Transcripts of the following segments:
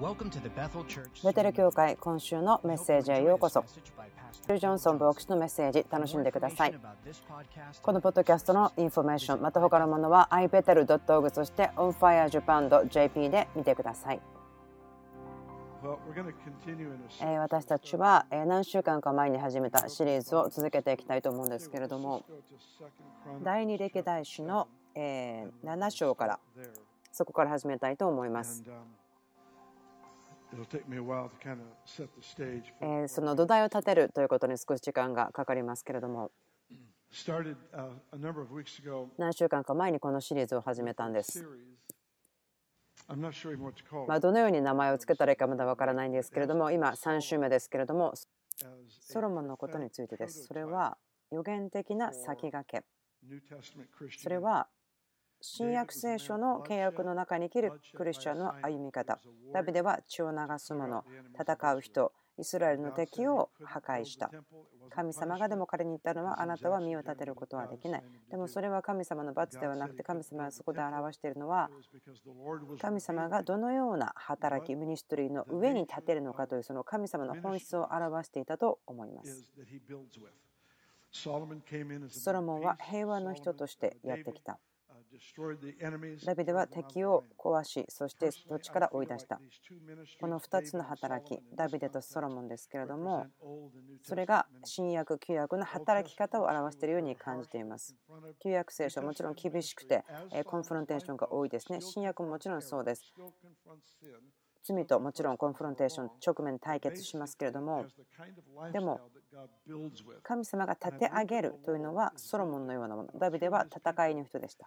ベテル教会今週のメッセージへようこそ。ジョンソン牧師のメッセージ楽しんでください。このポッドキャストのインフォメーションまた他のものは ibetel.org そして onfirejapan.jp で見てください。私たちは何週間か前に始めたシリーズを続けていきたいと思うんですけれども、第二歴代史の7章からそこから始めたいと思います。その土台を立てるということに少し時間がかかりますけれども、何週間か前にこのシリーズを始めたんです。どのように名前を付けたらいいかまだわからないんですけれども、今3週目ですけれども、ソロモンのことについてです。それは予言的な先駆け。それは新約聖書の契約の中に生きるクリスチャンの歩み方。ダビデは血を流す者、戦う人、イスラエルの敵を破壊した。神様がでも彼に言ったのは、あなたは身を立てることはできない。でもそれは神様の罰ではなくて、神様がそこで表しているのは、神様がどのような働き、ミニストリーの上に立てるのかという、その神様の本質を表していたと思います。ソロモンは平和の人としてやってきた。ダビデは敵を壊し、そして土地から追い出した。この2つの働き、ダビデとソロモンですけれども、それが新約、旧約の働き方を表しているように感じています。旧約聖書はもちろん厳しくて、コンフロンテーションが多いですね。新約ももちろんそうです。罪ともちろんコンフロンテーション、直面対決しますけれども、でも神様が立て上げるというのはソロモンのようなもの。ダビデは戦いの人でした。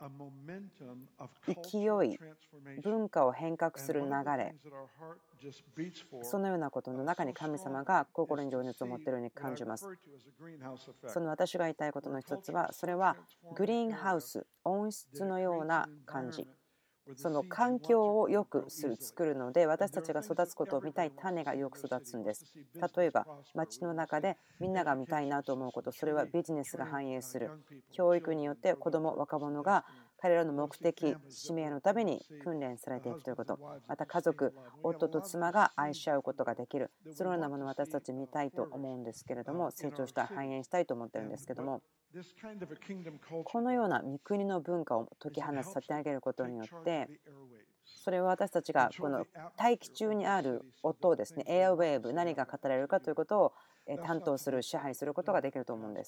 勢い、文化を変革する流れ、そのようなことの中に神様が心に情熱を持っているように感じます。その私が言いたいことの一つは、それはグリーンハウス、温室のような感じ。その環境を良く作るので、私たちが育つことを見たい種がよく育つんです。例えば町の中でみんなが見たいなと思うこと、それはビジネスが反映する。教育によって子ども若者が彼らの目的使命のために訓練されていくということ、また家族、夫と妻が愛し合うことができる、そのようなものを私たち見たいと思うんですけれども、成長した繁栄したいと思ってるんですけども、このような御国の文化を解き放つ、立て上げることによって、それは私たちがこの大気中にある音をですね、エアウェーブ、何が語られるかということを担当する、支配することができると思うんです。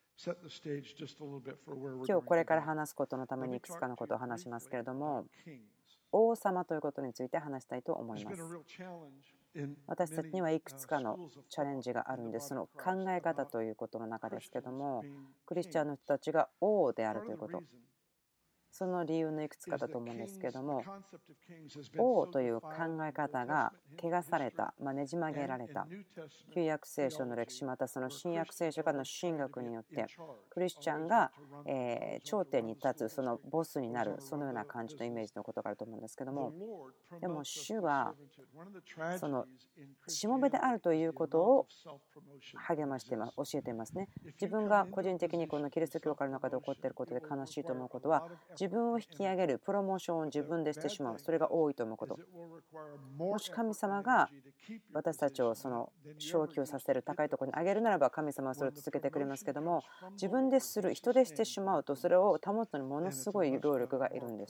今日これから話すことのためにいくつかのことを話しますけれども、王様ということについて話したいと思います。私たちにはいくつかのチャレンジがあるんです。その考え方ということの中ですけども、クリスチャンの人たちが王であるということ、その理由のいくつかだと思うんですけれども、王という考え方が汚された、ねじ曲げられた。旧約聖書の歴史、またその新約聖書からの神学によって、クリスチャンが頂点に立つ、そのボスになる、そのような感じのイメージのことがあると思うんですけども、でも主はそのしもべであるということを励まして教えていますね。自分が個人的にこのキリスト教会の中で起こっていることで悲しいと思うことは、自分を引き上げるプロモーションを自分でしてしまう、それが多いと思うこと。もし神様が私たちをその昇級させる、高いところに上げるならば、神様はそれを続けてくれますけども、自分でする、人でしてしまうと、それを保つのにものすごい労力がいるんです。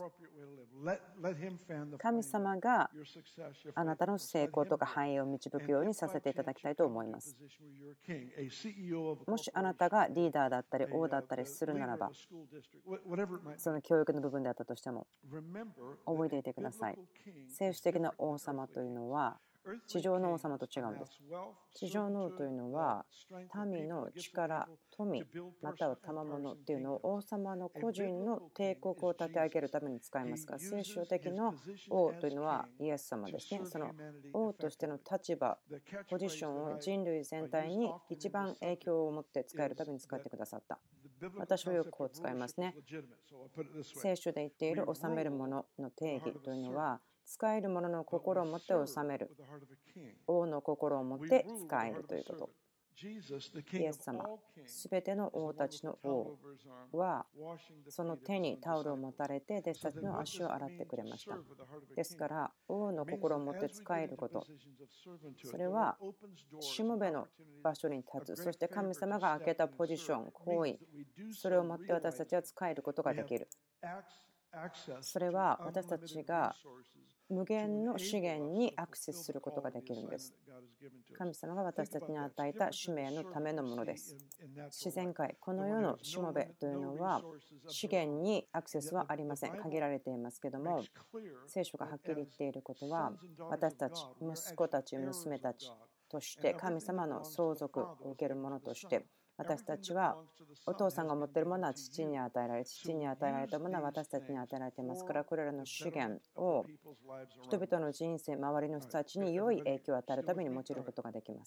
神様があなたの成功とか繁栄を導くようにさせていただきたいと思います。もしあなたがリーダーだったり王だったりするならば、その教育の部分であったとしても覚えていてください。聖書的な王様というのは地上の王様と違うんです。地上の王というのは民の力、富、または賜物っていうのを王様の個人の帝国を立て上げるために使いますが、聖書的な王というのはイエス様ですね。その王としての立場、ポジションを人類全体に一番影響を持って使えるために使ってくださった。私はよくこう使いますね。聖書で言っている治めるものの定義というのは、使えるものの心を持って治める、王の心を持って使えるということ。 イエス様、すべての王たちの王はその手にタオルを持たれて弟子たちの足を洗ってくれました。ですから王の心を持って仕えること、それはしもべの場所に立つ、そして神様が開けたポジション、行為、それを持って私たちは仕えることができる。それは私たちが無限の資源にアクセスすることができるんです。神様が私たちに与えた使命のためのものです。自然界、この世のしもべというのは資源にアクセスはありません。限られていますけども、聖書がはっきり言っていることは、私たち、息子たち、娘たちとして神様の相続を受けるものとして、私たちはお父さんが持っているものは父に与えられ、父に与えられたものは私たちに与えられていますから、これらの資源を人々の人生、周りの人たちに良い影響を与えるために用いることができます。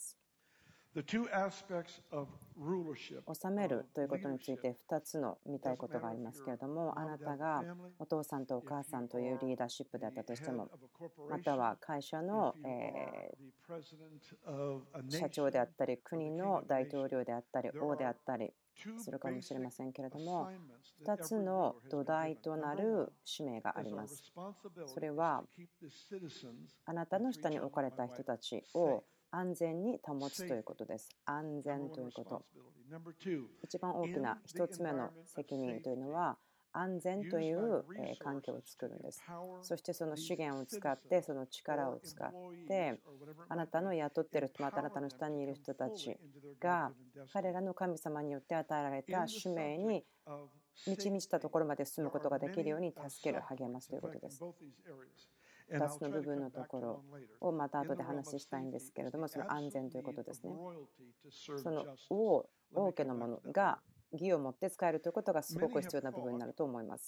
治めるということについて2つの見たいことがありますけれども、あなたがお父さんとお母さんというリーダーシップであったとしても、または会社の社長であったり、国の大統領であったり、王であったりするかもしれませんけれども、2つの土台となる使命があります。それはあなたの下に置かれた人たちを安全に保つということです。安全ということ。一番大きな1つ目の責任というのは、安全という環境を作るんです。そしてその資源を使って、その力を使って、あなたの雇っている人、またあなたの下にいる人たちが彼らの神様によって与えられた使命に満ち満ちたところまで進むことができるように助ける、励ますということです。2つの部分のところをまた後で話したいんですけれども、その安全ということですね。その王家のものが義を持って使えるということがすごく必要な部分になると思います。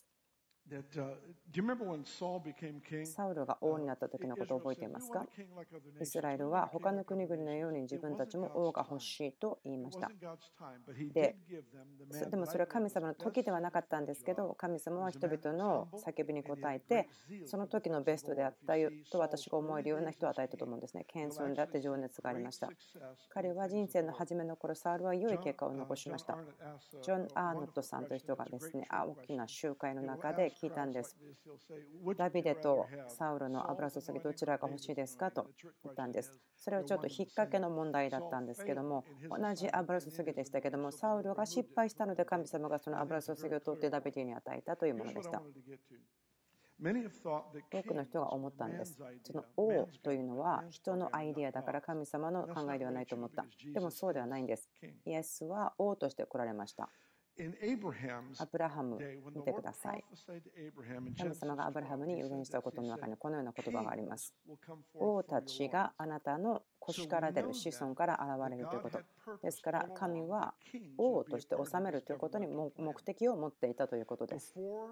サウルが王になった時のことを覚えていますか？イスラエルは他の国々のように自分たちも王が欲しいと言いました。でもそれは神様の時ではなかったんですけど、神様は人々の叫びに応えて、その時のベストであったと私が思えるような人を与えたと思うんですね。謙遜であって情熱がありました。彼は人生の初めの頃、サウルは良い結果を残しました。ジョン・アーノットさんという人がですね、大きな集会の中で聞いたんです。ダビデとサウルの油注ぎどちらが欲しいですかと言ったんです。それはちょっと引っ掛けの問題だったんですけども、同じ油注ぎでしたけども、サウルが失敗したので神様がその油注ぎを取ってダビデに与えたというものでした。多くの人が思ったんです。その王というのは人のアイデアだから神様の考えではないと思った。でもそうではないんです。イエスは王として来られました。アブラハム、見てください。神様がアブラハムに預言したことの中にこのような言葉があります。王たちがあなたの腰から出る子孫から現れるということ。ですから神は王として治めるということに目的を持っていたということです。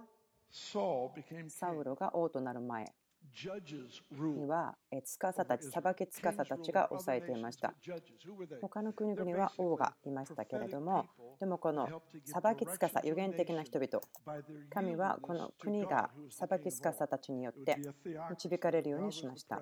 サウロが王となる前には司たち、裁き司たちが抑えていました。他の国々は王がいましたけれども、でもこの裁き司、預言的な人々、神はこの国が裁き司たちによって導かれるようにしました。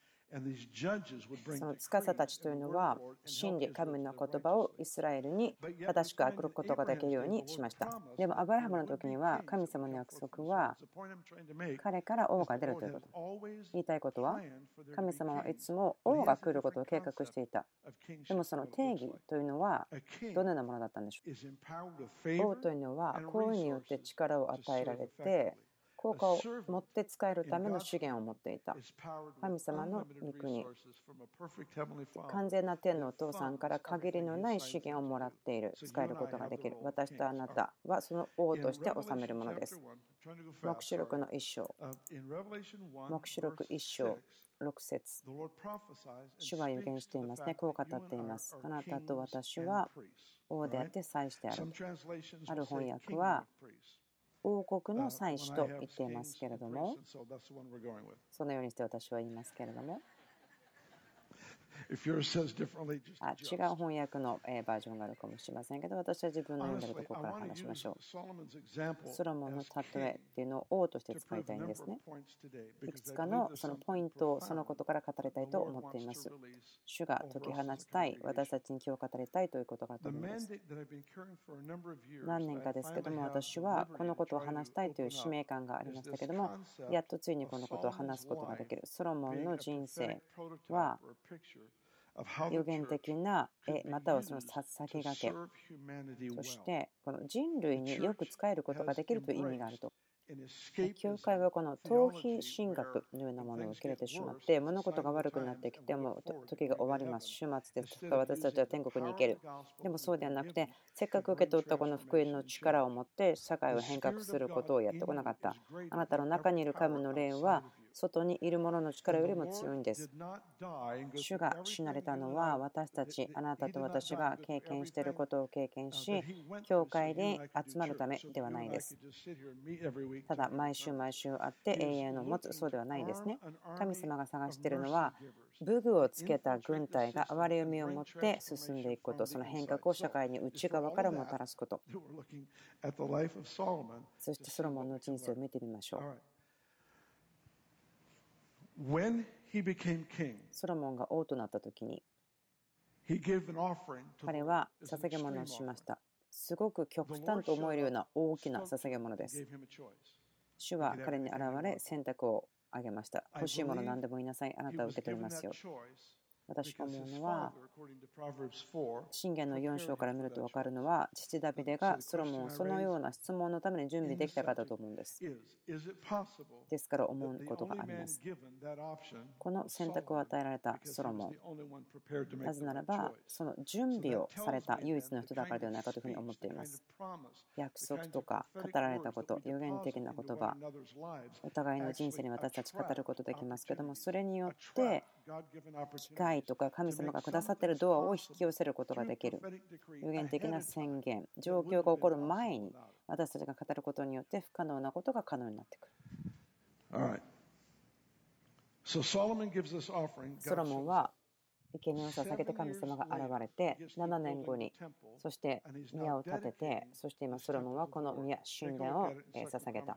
その司たちというのは真理、神の言葉をイスラエルに正しく送ることができるようにしました。でもアブラハムの時には神様の約束は彼から王が出るということ。言いたいことは、神様はいつも王が来ることを計画していた。でもその定義というのはどのようなものだったんでしょう。王というのは行為によって力を与えられて効果を持って使えるための資源を持っていた。神様の御国、完全な天のお父さんから限りのない資源をもらっている、使えることができる。私とあなたはその王として治めるものです。黙示録の1章、黙示録1章6節、主は預言していますね。こう語っています。あなたと私は王であって祭司である。ある翻訳は王国の祭司と言っていますけれども、そのようにして私は言いますけれども、 違う翻訳のバージョンがあるかもしれませんけど、私は自分の読んでるところから話しましょう。ソロモンの例えっていうのを王として使いたいんですね。いくつかのそのポイントをそのことから語りたいと思っています。主が解き放ちたい、私たちに今日語りたいということがと思います。何年かですけども、私はこのことを話したいという使命感がありましたけども、やっとついにこのことを話すことができる。ソロモンの人生は予言的な絵またはその先駆け、そしてこの人類によく仕えることができるという意味があると。教会はこの逃避神学のようなものを受け入れてしまって、物事が悪くなってきても時が終わります。終末ですとか私たちは天国に行ける。でもそうではなくて、せっかく受け取ったこの福音の力を持って社会を変革することをやってこなかった。あなたの中にいる神の霊は外にいる者の力よりも強いんです。主が死なれたのは私たち、あなたと私が経験していることを経験し、教会に集まるためではないです。ただ毎週毎週会って永遠を持つ、そうではないですね。神様が探しているのは武具をつけた軍隊が憐れみを持って進んでいくこと、その変革を社会に内側からもたらすこと。そしてソロモンの人生を見てみましょう。ソロモンが王となった時に彼は捧げ物をしました。すごく極端と思えるような大きな捧げ物です。主は彼に現れ選択をあげました。欲しいもの何でも言いなさい。あなたは受け取りますよ。私が思うのは、箴言の4章から見ると分かるのは、父ダビデがソロモンをそのような質問のために準備できたかだと思うんです。ですから思うことがあります。この選択を与えられたソロモン、なぜならば、その準備をされた唯一の人だからではないかというふうに思っています。約束とか語られたこと、予言的な言葉、お互いの人生に私たち語ることできますけども、それによって機会とか神様がくださっているドアを引き寄せることができる。予言的な宣言、状況が起こる前に私たちが語ることによって不可能なことが可能になってくる。ソロモンは生贄を捧げて神様が現れて7年後に、そして宮を建てて、そして今ソロモンはこの宮神殿を捧げた。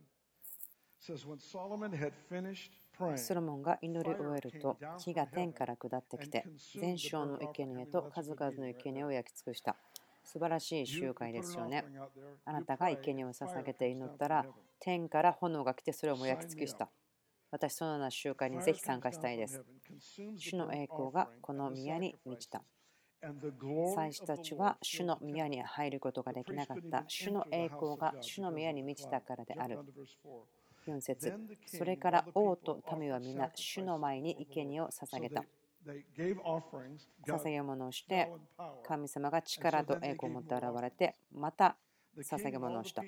ソロモンが祈り終えると火が天から下ってきて全焼の生贄と数々の生贄を焼き尽くした。素晴らしい集会ですよね。あなたが生贄を捧げて祈ったら天から炎が来てそれをも焼き尽くした。私そのような集会にぜひ参加したいです。主の栄光がこの宮に満ちた。祭司たちは主の宮に入ることができなかった。主の栄光が主の宮に満ちたからである。4節、それから王と民は皆主の前に生贄を捧げた。捧げ物をして神様が力と栄光を持って現れてまた捧げ物をした。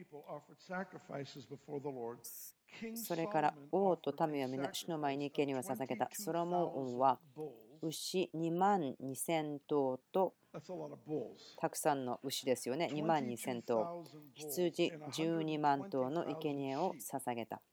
それから王と民は皆主の前に生贄を捧げた。ソロモン王は牛22,000頭とたくさんの牛ですよね。22,000頭、羊12万頭の生贄を捧げた。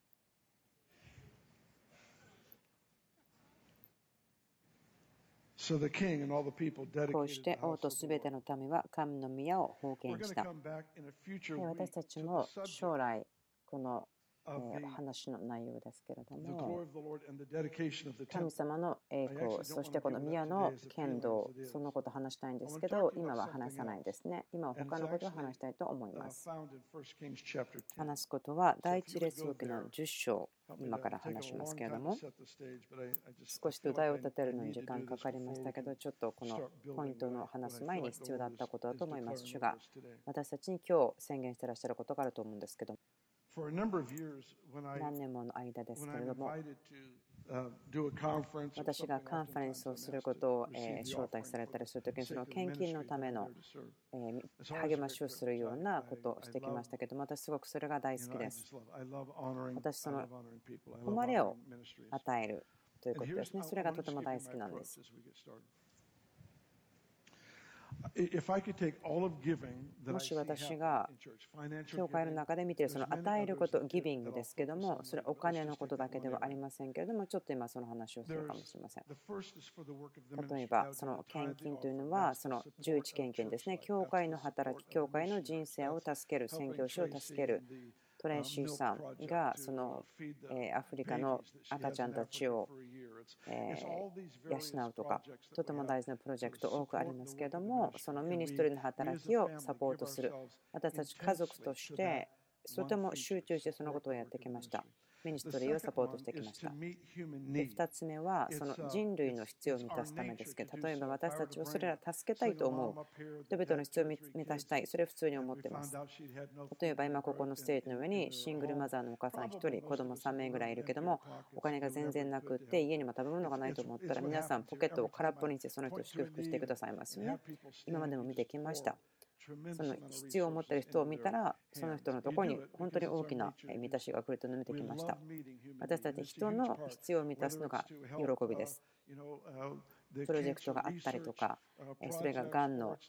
こうして王とすべての民は神の宮を奉献した。私たちも将来この話の内容ですけれども、神様の栄光、そしてこの宮の剣道、そのことを話したいんですけど、今は話さないですね。今は他のことを話したいと思います。話すことは第一列王記の10章、今から話しますけれども、少し土台を立てるのに時間かかりましたけど、ちょっとこのポイントの話す前に必要だったことだと思います。主が私たちに今日宣言していらっしゃることがあると思うんですけど、何年もの間ですけれども、私がカンファレンスをすることを招待されたりするときに、その献金のための励ましをするようなことをしてきましたけども、私すごくそれが大好きです。私その誉れを与えるということですね。それがとても大好きなんです。 もし私が教会の中で見ているその与えること、ギビングですけども、それはお金のことだけではありませんけれども、ちょっと今その話をするかもしれません。例えば、その献金というのは、その11献金ですね。教会の働き、教会の人生を助ける、宣教師を助ける。トレイシーさんがそのアフリカの赤ちゃんたちを養うとか、とても大事なプロジェクト多くありますけれども、そのミニストリーの働きをサポートする。私たち家族としてとても集中してそのことをやってきました。ミニストリーをサポートしてきました。で、2つ目はその人類の必要を満たすためですけど、例えば私たちはそれらを助けたいと思う。人々の必要を満たしたい。それを普通に思っています。例えば今ここのステージの上にシングルマザーのお母さん1人、子供3名ぐらいいるけども、お金が全然なくって家にも食べ物がないと思ったら、皆さんポケットを空っぽにしてその人を祝福してくださいますよね。今までも見てきました。その必要を持っている人を見たら、その人のところに本当に大きな満たしが来るというのを見てきました。私たち人の必要を満たすのが喜びです。プロジェクトがあったりとか、それががんの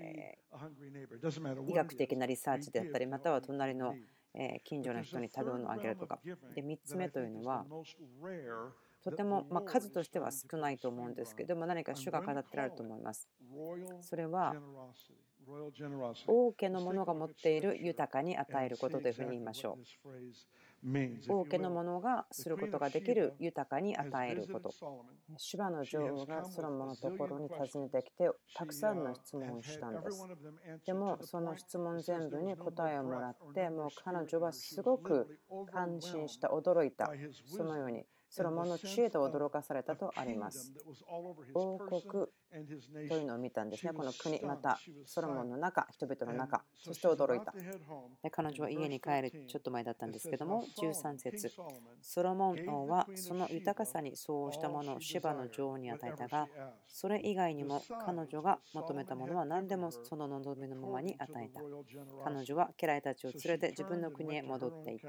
医学的なリサーチであったり、または隣の近所の人に食べ物をあげるとか。で、3つ目というのは、とても数としては少ないと思うんですけども、何か主が語ってられると思います。それは王家の者が持っている豊かに与えることというふうに言いましょう。王家の者がすることができる豊かに与えること。シュバの女王がソロモンのところに訪ねてきて、たくさんの質問をしたんです。でもその質問全部に答えをもらって、もう彼女はすごく感心した、驚いた。そのようにソロモンの知恵と驚かされたとあります。王国というのを見たんですね。この国、またソロモンの中、人々の中、そして驚いた。で、彼女は家に帰るちょっと前だったんですけども、13節、ソロモン王はその豊かさに相応したものをシバの女王に与えたが、それ以外にも彼女が求めたものは何でもその望みのままに与えた。彼女は家来たちを連れて自分の国へ戻っていった。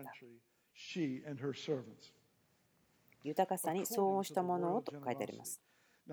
豊かさに相応したものをと書いてあります。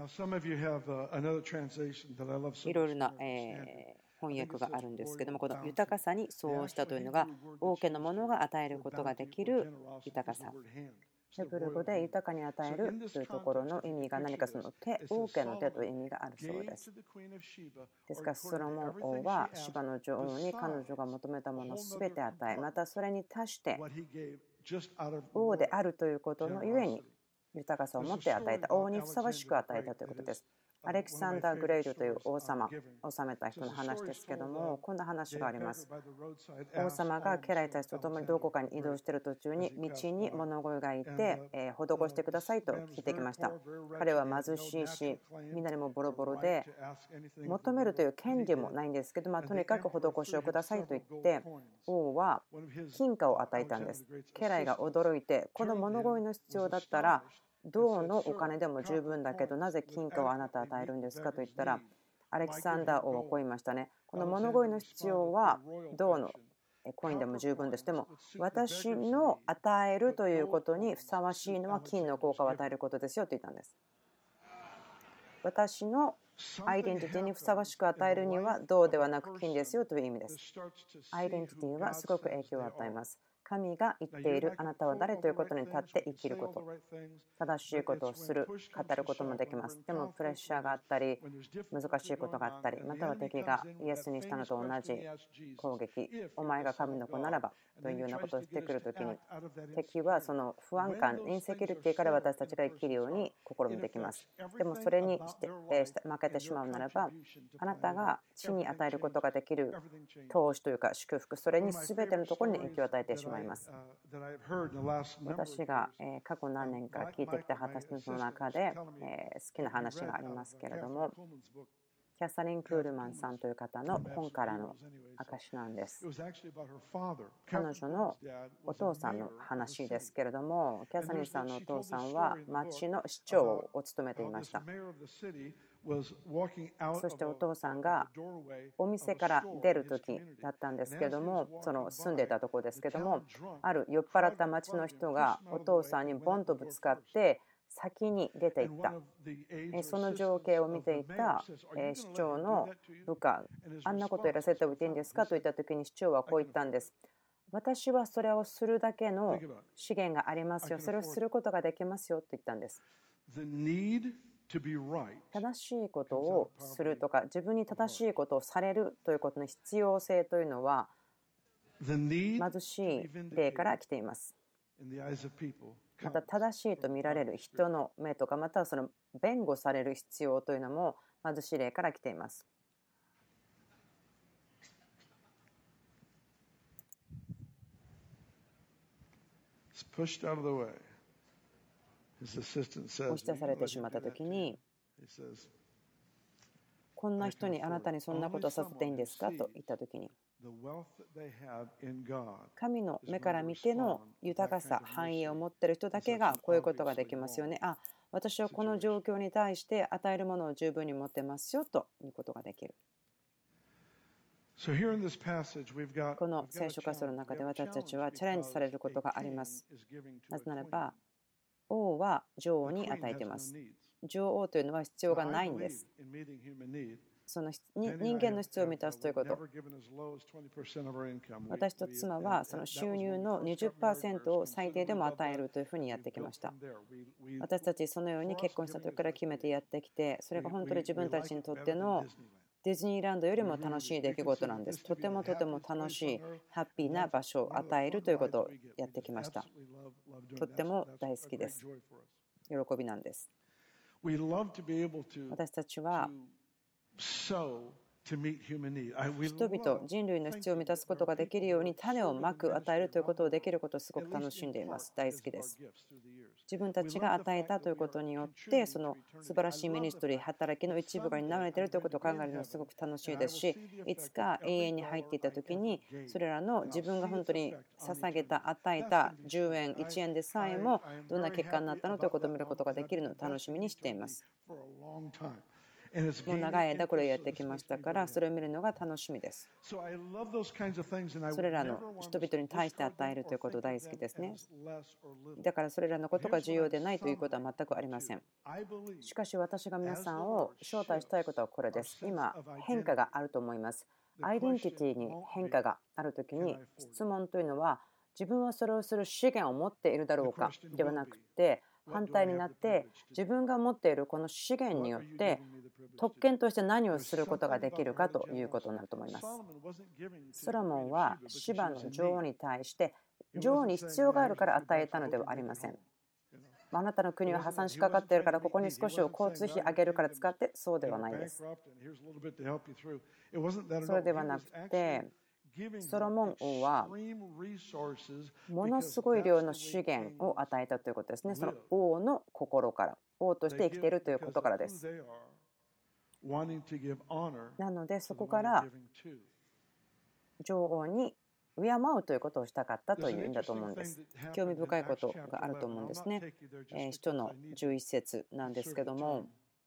いろいろな翻訳があるんですけども、この豊かさに相応したというのが、王家のものが与えることができる豊かさ。ヘブル語で豊かに与えるというところの意味が何かその手、王家の手という意味があるそうです。ですから、ソロモン王はシバの女王に彼女が求めたものをすべて与え、またそれに足して王であるということのゆえに豊かさを持って与えた、王にふさわしく与えたということです。アレキサンダー・グレートという王様、治めた人の話ですけども、こんな話があります。王様が家来たちと共にどこかに移動している途中に道に物乞いがいて、施してくださいと聞いてきました。彼は貧しいし、みんなにもボロボロで、求めるという権利もないんですけど、とにかく施しをくださいと言って、王は金貨を与えたんです。家来が驚いて、この物乞いの必要だったら、銅のお金でも十分だけど、なぜ金貨をあなた与えるんですかと言ったら、アレキサンダー王はこう言いましたね。この物乞いの必要は銅のコインでも十分です。でも私の与えるということにふさわしいのは金の効果を与えることですよと言ったんです。私のアイデンティティにふさわしく与えるには銅ではなく金ですよという意味です。アイデンティティはすごく影響を与えます。神が言っているあなたは誰ということに立って生きること、正しいことをする、語ることもできます。でもプレッシャーがあったり、難しいことがあったり、または敵がイエスにしたのと同じ攻撃、お前が神の子ならばというようなことをしてくるときに、敵はその不安感、インセキュリティから私たちが生きるように試みてきます。でもそれに負けてしまうならば、あなたが地に与えることができる投資というか祝福、それに全てのところに影響を与えてしまいます。私が過去何年か聞いてきた話の中で好きな話がありますけれども、キャサリン・クールマンさんという方の本からの証なんです。彼女のお父さんの話ですけれども、キャサリンさんのお父さんは町の市長を務めていました。そしてお父さんがお店から出る時だったんですけども、その住んでたところですけども、ある酔っ払った町の人がお父さんにボンとぶつかって先に出ていった。その情景を見ていた市長の部下、あんなことやらせておいていいんですかと言ったときに市長はこう言ったんです。私はそれをするだけの資源がありますよ。それをすることができますよと言ったんです。正しいことをするとか、自分に正しいことをされるということの必要性というのは、貧しい例から来ています。また正しいと見られる人の目とか、またはその弁護される必要というのも貧しい例から来ています。押し出されてしまったときに、こんな人にあなたにそんなことをさせていいんですかと言ったときに、神の目から見ての豊かさ、繁栄を持っている人だけがこういうことができますよね。あ、私はこの状況に対して与えるものを十分に持ってますよということができる。この聖書箇所の中で私たちはチャレンジされることがあります。なぜならば、王は女王に与えています。女王というのは必要がないんです。その人間の必要を満たすということ。私と妻はその収入の 20% を最低でも与えるというふうにやってきました。私たちそのように結婚した時から決めてやってきて、それが本当に自分たちにとってのディズニーランドよりも楽しい出来事なんです。とても楽しい、ハッピーな場所を与えるということをやってきました。とっても大好きです。喜びなんです。私たちは人々、人類の必要を満たすことができるように種をまく、与えるということをできることをすごく楽しんでいます。大好きです。自分たちが与えたということによって、その素晴らしいミニストリー、働きの一部が担われているということを考えるのはすごく楽しいですし、いつか永遠に入っていったときに、それらの自分が本当に捧げた、与えた10円、1円でさえもどんな結果になったのということを見ることができるのを楽しみにしています。もう長い間これをやってきましたから、それを見るのが楽しみです。それらの人々に対して与えるということ大好きですね。だからそれらのことが重要でないということは全くありません。しかし私が皆さんを招待したいことはこれです。今変化があると思います。アイデンティティに変化があるときに、質問というのは自分はそれをする資源を持っているだろうかではなくて、反対になって自分が持っているこの資源によって特権として何をすることができるかということになると思います。ソロモンはシバの女王に対して女王に必要があるから与えたのではありません。あなたの国は破産しかかっているからここに少しを交通費上げるから使って、そうではないです。それではなくて、ソロモン王はものすごい量の資源を与えたということですね。その王の心から、王として生きているということからです。なのでそこから女王に敬うということをしたかったというんだと思うんです。興味深いことがあると思うんですね。使徒の11節なんですけども、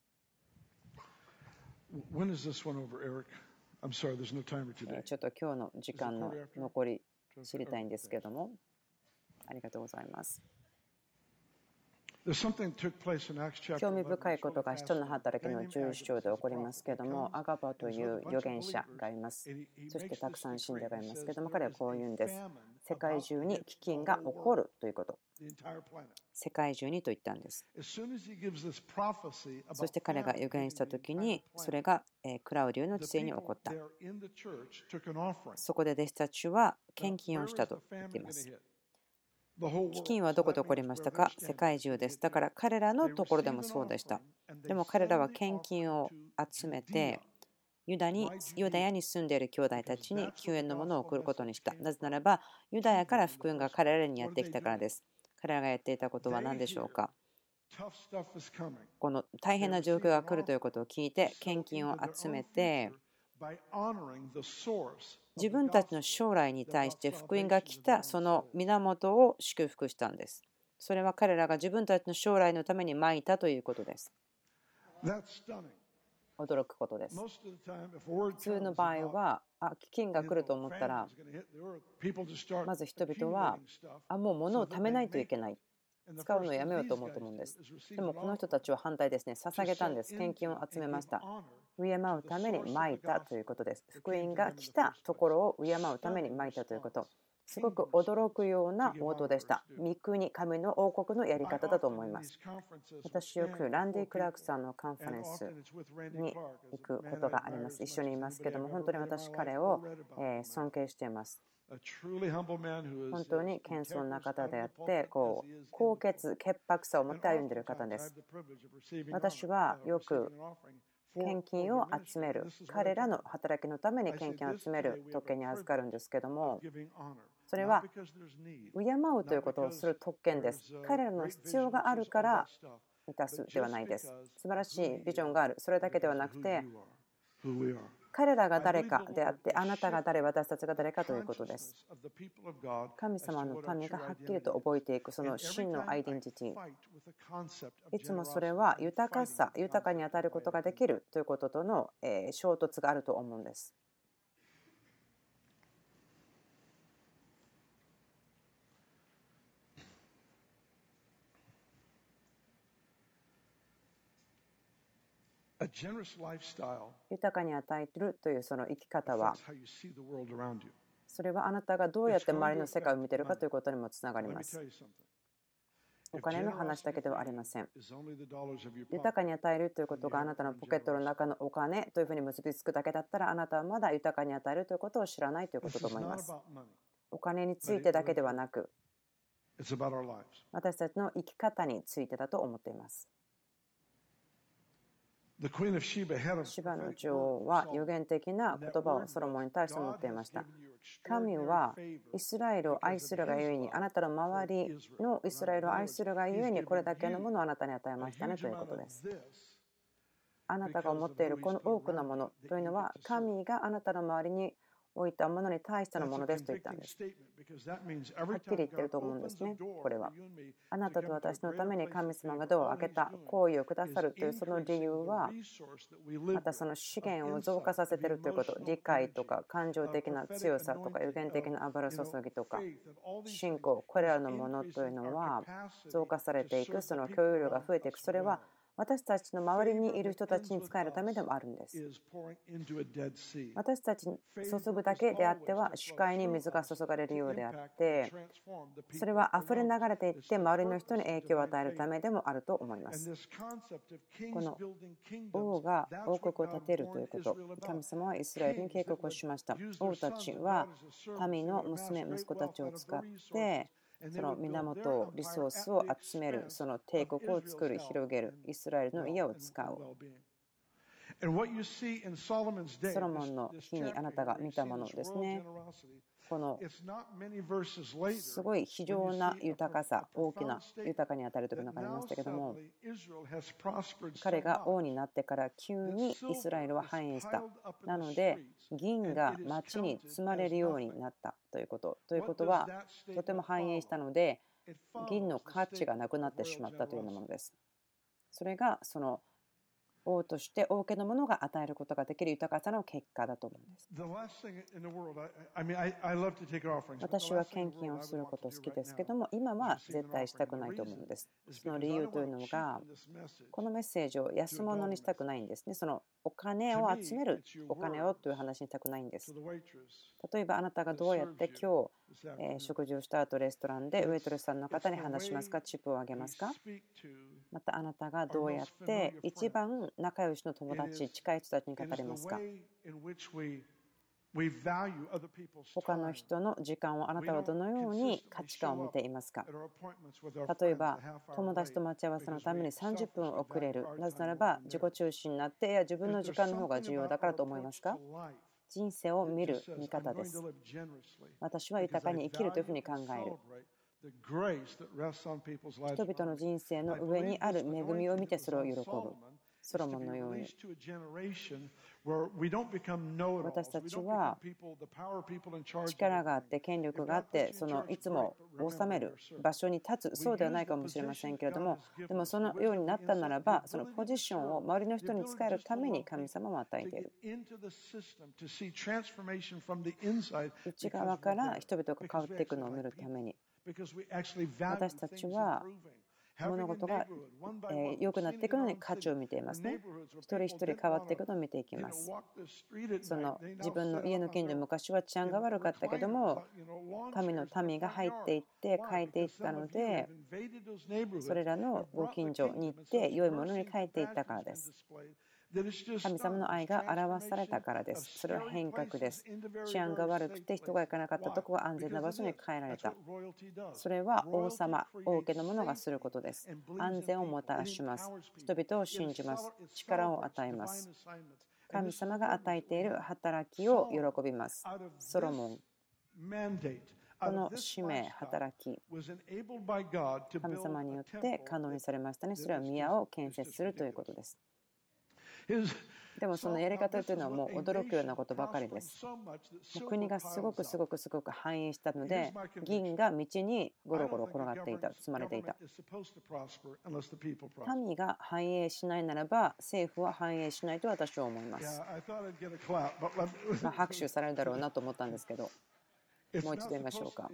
ちょっと今日の時間の残り知りたいんですけども、ありがとうございます。興味深いことが使徒の働きの11章で起こりますけれども、アガバという預言者がいます。そしてたくさん信者がいますけれども、彼はこう言うんです。世界中に飢饉が起こるということ。世界中にと言ったんです。そして彼が預言したときに、それがクラウディオの治世に起こった。そこで弟子たちは献金をしたと言っています。飢饉はどこで起こりましたか？世界中です。だから彼らのところでもそうでした。でも彼らは献金を集めて、ユダヤに住んでいる兄弟たちに救援のものを送ることにした。なぜならば、ユダヤから福音が彼らにやってきたからです。彼らがやっていたことは何でしょうか？この大変な状況が来るということを聞いて、献金を集めて、自分たちの将来に対して福音が来たその源を祝福したんです。それは彼らが自分たちの将来のためにまいたということです。驚くことです。普通の場合は、飢饉が来ると思ったら、まず人々は、もう物を貯めないといけない。 使うのをやめようと思うと思うんです。でもこの人たちは反対ですね。捧げたんです。献金を集めました。敬うためにまいたということです。福音が来たところを敬うためにまいたということ。すごく驚くような応答でした。御国、神の王国のやり方だと思います。私よくランディ・クラークさんのカンファレンスに行くことがあります。一緒にいますけども、本当に私彼を尊敬しています。本当に謙遜な方であって、高潔潔白さを持って歩んでいる方です。私はよく献金を集める、彼らの働きのために献金を集める特権に預かるんですけども、それは敬うということをする特権です。彼らの必要があるから満たすではないです。素晴らしいビジョンがある、それだけではなくて、彼らが誰かであって、あなたが誰、私たちが誰かということです。神様の民がはっきりと覚えていく、その真のアイデンティティ。いつもそれは豊かさ、豊かに与えることができるということとの衝突があると思うんです。豊かに与えるというその生き方は、それはあなたがどうやって周りの世界を見ているかということにもつながります。お金の話だけではありません。豊かに与えるということがあなたのポケットの中のお金というふうに結びつくだけだったら、あなたはまだ豊かに与えるということを知らないということと思います。お金についてだけではなく、私たちの生き方についてだと思っています。シバの女王は予言的な言葉をソロモンに対して持っていました。神はイスラエルを愛するがゆえに、あなたの周りのイスラエルを愛するがゆえに、これだけのものをあなたに与えましたねということです。あなたが思っているこの多くのものというのは、神があなたの周りに置いたものに対してのものですと言ったんです。はっきり言ってると思うんですね。これはあなたと私のために神様がドアを開けた、行為をくださるというその理由は、またその資源を増加させているということ、理解とか感情的な強さとか予言的な油注ぎとか信仰、これらのものというのは増加されていく、その共有量が増えていく。それは私たちの周りにいる人たちに使えるためでもあるんです。私たちに注ぐだけであっては視界に水が注がれるようであって、それは溢れ流れていって周りの人に影響を与えるためでもあると思います。この王が王国を建てるということ、神様はイスラエルに警告をしました。王たちは民の娘、息子たちを使ってその源、リソースを集める、その帝国を作る、広げる、イスラエルの家を使う。ソロモンの日にあなたが見たものですね。このすごい非常な豊かさ、大きな豊かに与えるというのがありましたけども、彼が王になってから急にイスラエルは繁栄した。なので銀が町に積まれるようになったということ。ということはとても繁栄したので銀の価値がなくなってしまったというようなものです。それがその王として王家のものが与えることができる豊かさの結果だと思うんです。私は献金をすること好きですけども、今は絶対したくないと思うんです。その理由というのが、このメッセージを安物にしたくないんですね。そのお金を集める、お金をという話にしたくないんです。例えばあなたがどうやって今日食事をした後レストランでウェイトレスさんの方に話しますか、チップをあげますか。またあなたがどうやって一番仲良しの友達、近い人たちに語りますか。他の人の時間をあなたはどのように価値観を見ていますか。例えば友達と待ち合わせのために30分遅れる。なぜならば自己中心になって、いや自分の時間の方が重要だからと思いますか。人生を見る見方です。私は豊かに生きるというふうに考える。人々の人生の上にある恵みを見てそれを喜ぶ。ソロモンのように私たちは力があって権力があって、そのいつも治める場所に立つ、そうではないかもしれませんけれども、でもそのようになったならば、そのポジションを周りの人に使えるために神様も与えている。内側から人々が変わっていくのを見るために。 私たちは物事が良くなっていくのに価値を見ていますね。一人一人変わっていくのを見ていきます。その自分の家の近所、昔は治安が悪かったけども、神の民が入っていって変えていったので、それらのご近所に行って良いものに変えていったからです。神様の愛が表されたからです。それは変革です。治安が悪くて人が行かなかったところが安全な場所に変えられた。それは王様、王家の者がすることです。安全をもたらします。人々を信じます。力を与えます。神様が与えている働きを喜びます。ソロモン、この使命、働き、神様によって可能にされましたね。それは宮を建設するということです。でもそのやり方というのはもう驚くようなことばかりです。国がすごく繁栄したので、銀が道にゴロゴロ転がっていた、積まれていた。民が繁栄しないならば政府は繁栄しないと私は思います。拍手されるだろうなと思ったんですけど、もう一度言いましょうか。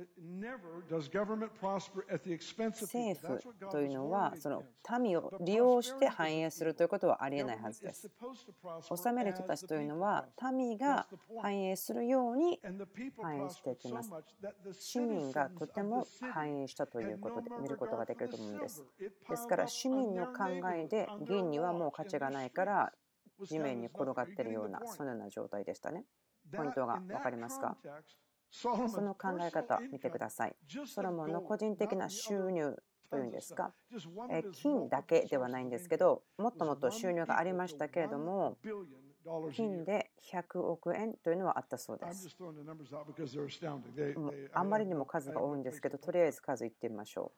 政府というのはその民を利用して繁栄するということはありえないはずです。治める人たちというのは民が繁栄するように繁栄していきます。市民がとても繁栄したということで見ることができると思うんです。ですから市民の考えで銀にはもう価値がないから地面に転がっているようなそのような状態でしたね。ポイントが分かりますか？その考え方見てください。ソロモンの個人的な収入というんですか、金だけではないんですけど、もっともっと収入がありましたけれども、金で100億円というのはあったそうです。あんまりにも数が多いんですけど、とりあえず数言ってみましょう。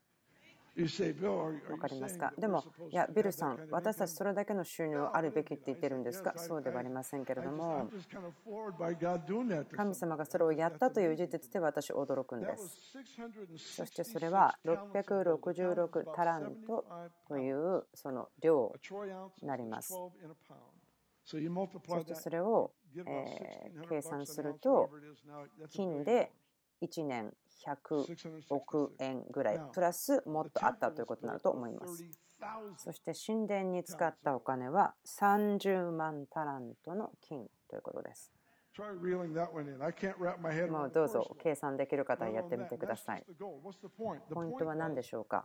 わかりますか？でも、いや、ビルさん、私たちそれだけの収入あるべきって言ってるんですか？そうではありませんけれども、神様がそれをやったという事実で私驚くんです。そしてそれは666タラントというその量になります。そしてそれを計算すると、金で1年100億円ぐらいプラスもっとあったということになると思います。そして神殿に使ったお金は30万タラントの金ということです。もうどうぞ計算できる方はやってみてください。ポイントは何でしょうか？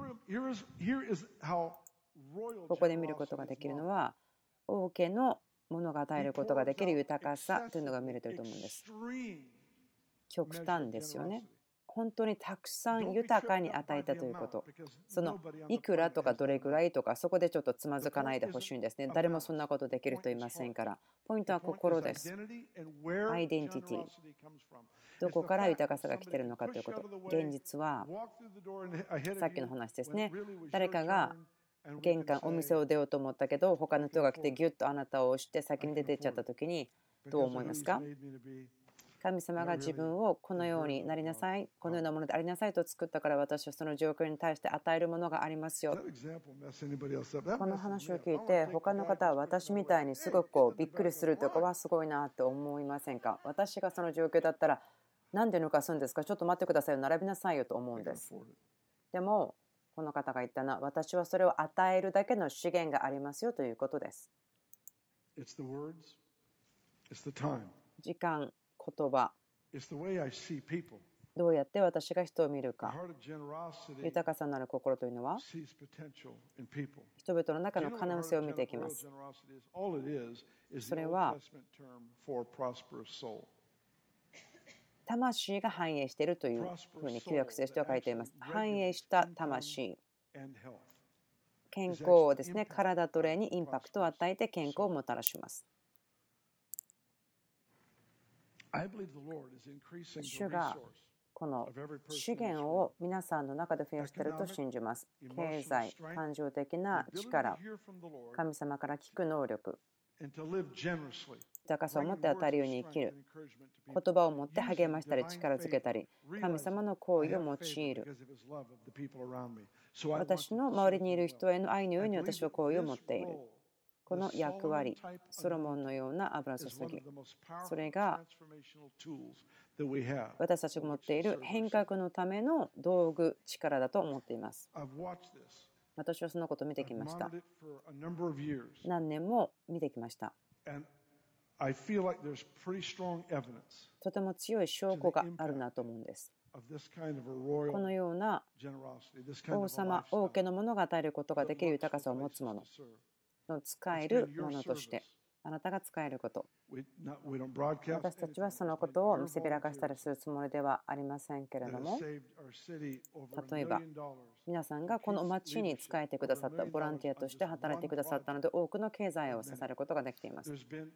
ここで見ることができるのは、王家のものが与えることができる豊かさというのが見れていると思うんです。極端ですよね。本当にたくさん豊かに与えたということ。そのいくらとかどれぐらいとか、そこでちょっとつまずかないでほしいんですね。誰もそんなことできる人いませんから。ポイントは心です。アイデンティティ。どこから豊かさが来ているのかということ。現実は、さっきの話ですね。誰かが玄関、お店を出ようと思ったけど、他の人が来てギュッとあなたを押して先に出ていっちゃった時に、どう思いますか？神様が自分をこのようになりなさい、このようなものでありなさいと作ったから、私はその状況に対して与えるものがありますよ。この話を聞いて、他の方は私みたいにすごくびっくりするとかはすごいなって思いませんか？私がその状況だったら、なんで抜かすんですか？ちょっと待ってくださいよ、並びなさいよと思うんです。でも、この方が言ったのは、私はそれを与えるだけの資源がありますよということです。時間、言葉、どうやって私が人を見るか。豊かさのある心というのは、人々の中の可能性を見ていきます。それは、魂が繁栄しているというふうに旧約聖書は書いています。繁栄した魂、健康をですね、体と霊にインパクトを与えて健康をもたらします。主がこの資源を皆さんの中で増やしていると信じます。経済、感情的な力、神様から聞く能力、豊かさを持って与えるように生きる、言葉を持って励ましたり力づけたり、神様の行為を用いる。私の周りにいる人への愛のように私は行為を持っている。この役割、ソロモンのような油注ぎ、それが私たちが持っている変革のための道具、力だと思っています。私はそのことを見てきました。何年も見てきました。とても強い証拠があるなと思うんです。このような王様、王家のものが与えることができる豊かさを持つものの使えるものとして、あなたが使えること。私たちはそのことを見せびらかしたりするつもりではありませんけれども、例えば皆さんがこの町に仕えてくださった、ボランティアとして働いてくださったので、多くの経済を支えることができています。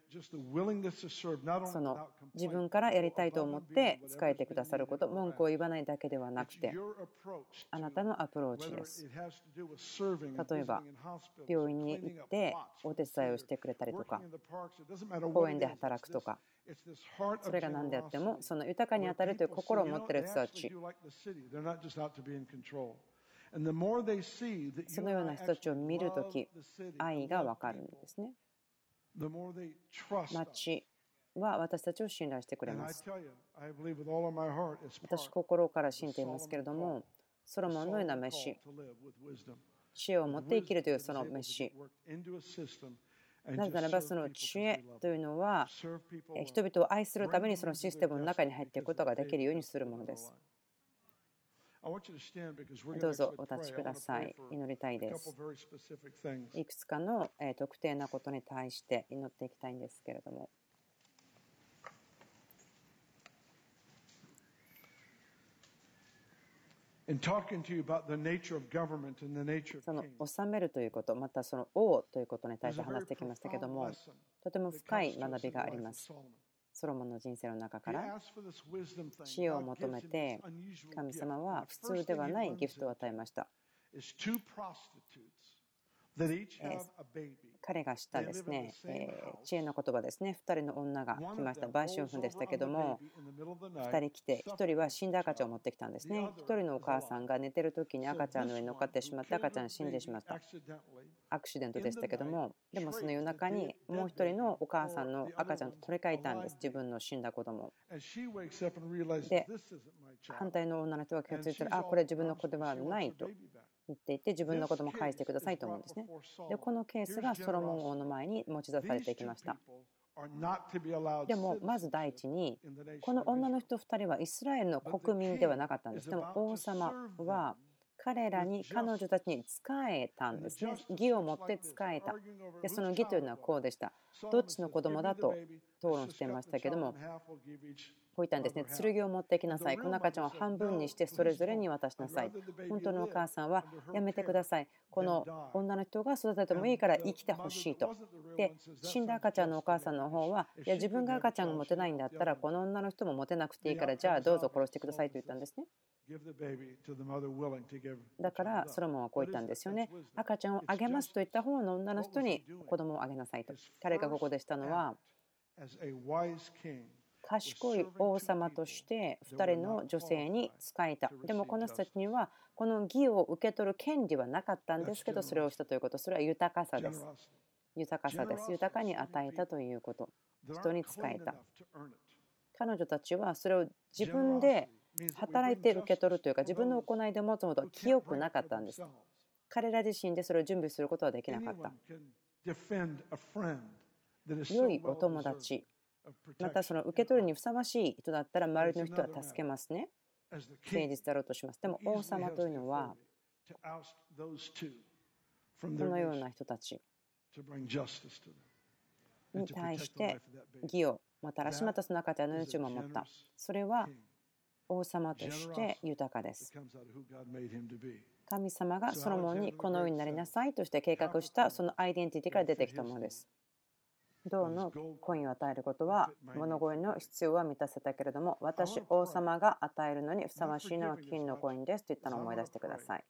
その自分からやりたいと思って仕えてくださること、文句を言わないだけではなくて、あなたのアプローチです。例えば病院に行ってお手伝いをしてくれたりとか、公園で働くとか、それが何であってもその豊かに当たるという心を持っている人たち、そのような人たちを見るとき、愛が分かるんですね。町は私たちを信頼してくれます。私、心から信じていますけれども、ソロモンのような召し、知恵を持って生きるというその召し、なぜならばその知恵というのは人々を愛するためにそのシステムの中に入っていくことができるようにするものです。どうぞお立ちください。祈りたいです。いくつかの特定なことに対して祈っていきたいんですけれども、その治めるということ、またその王ということに対して話してきましたけども、とても深い学びがあります。ソロモンの人生の中から知恵を求めて、神様は普通ではないギフトを与えました。彼がしたですね、知恵の言葉ですね。2人の女が来ました。売春婦でしたけども、2人来て、1人は死んだ赤ちゃんを持ってきたんですね。1人のお母さんが寝てる時に赤ちゃんの上に乗っかってしまって、赤ちゃん死んでしまった。アクシデントでしたけども、でもその夜中にもう1人のお母さんの赤ちゃんと取り替えたんです。自分の死んだ子供で、反対の女の人が気がついたら、これ自分の子ではないと言っていて、自分の子供を返してくださいと思うんですね。で、このケースがソロモン王の前に持ち出されていきました。でもまず第一に、この女の人2人はイスラエルの国民ではなかったんです。でも王様は彼女たちに仕えたんですね。義を持って仕えた。で、その義というのはこうでした。どっちの子供だと討論していましたけども、こう言ったんですね。剣を持ってきなさい。この赤ちゃんを半分にしてそれぞれに渡しなさい。本当のお母さんはやめてください。この女の人が育ててもいいから生きてほしいと。で、死んだ赤ちゃんのお母さんの方は、いや自分が赤ちゃんが持てないんだったらこの女の人も持てなくていいから、じゃあどうぞ殺してくださいと言ったんですね。だからソロモンはこう言ったんですよね。赤ちゃんをあげますと言った方の女の人に子供をあげなさいと。彼がここでしたのは、賢い王様として2人の女性に仕えた。でもこの人たちにはこの義を受け取る権利はなかったんですけど、それをしたということ、それは豊かさです。豊かさです。豊かに与えたということ、人に仕えた。彼女たちはそれを自分で働いて受け取るというか、自分の行いで持つことは清くなかったんです。彼ら自身でそれを準備することはできなかった。良いお友達、またその受け取りにふさわしい人だったら周りの人は助けますね。誠実だろうとします。でも王様というのはこのような人たちに対して義をもたらし、またその赤ちゃんの命を守った。それは王様として豊かです。神様がソロモンにこのようになりなさいとして計画したそのアイデンティティから出てきたものです。銅のコインを与えることは物乞いの必要は満たせたけれども、私王様が与えるのにふさわしいのは金のコインですと言ったのを思い出してください。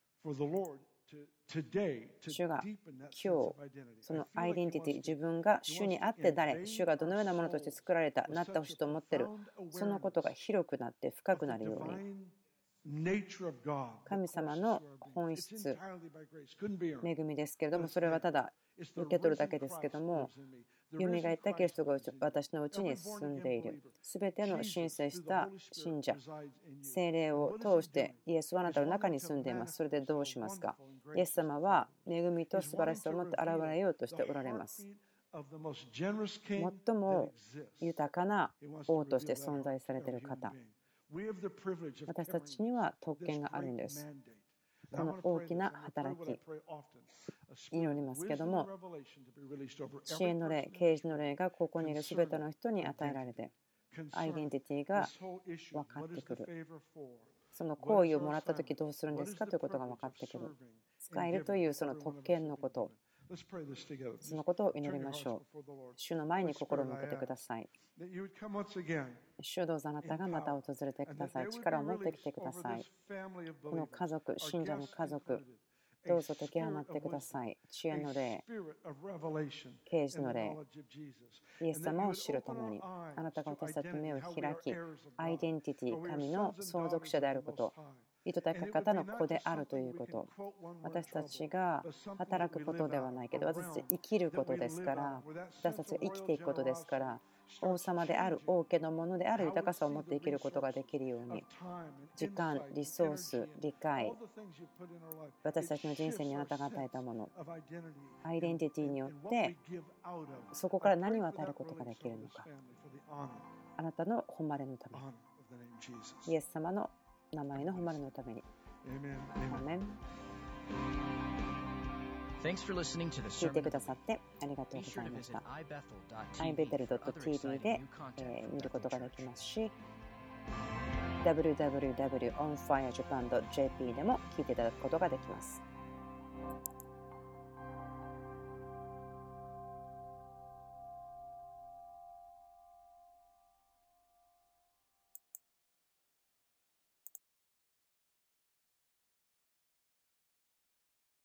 主が今日そのアイデンティティ、自分が主にあって誰、主がどのようなものとして作られた、なってほしいと思っている、そのことが広くなって深くなるように、 神様の本質、恵みですけれども、それはただ受け取るだけですけども、よみがえったキリストが私のうちに住んでいる。すべての申請した信者、聖霊を通してイエスはあなたの中に住んでいます。それでどうしますか？イエス様は恵みと素晴らしさを持って現れようとしておられます。最も豊かな王として存在されている方。私たちには特権があるんです。この大きな働き、祈りますけども、知恵の霊、啓示の霊がここにいるすべての人に与えられて、アイデンティティが分かってくる。その行為をもらったときどうするんですかということが分かってくる。使えるというその特権のこと、そのことを祈りましょう。主の前に心を向けてください。主どうぞあなたがまた訪れてください。力を持ってきてください。この家族、信者の家族、どうぞ解き放ってください。知恵の霊、啓示の霊、イエス様を知るために、あなたが私たちの目を開き、アイデンティティ、神の相続者であること、意図高か方の子であるということ、私たちが働くことではないけど、私たち生きることですから、私たちが生きていくことですから、王様である、王家のものである豊かさを持って生きることができるように、時間、リソース、理解、私たちの人生にあなたが与えたもの、アイデンティティによって、そこから何を与えることができるのか、あなたの誉れのために、イエス様の名前の誉れのために。アメン。聞いてくださってありがとうございました。ibethel.tv で見ることができますし、www.onfirejapan.jp でも聞いていただくことができます。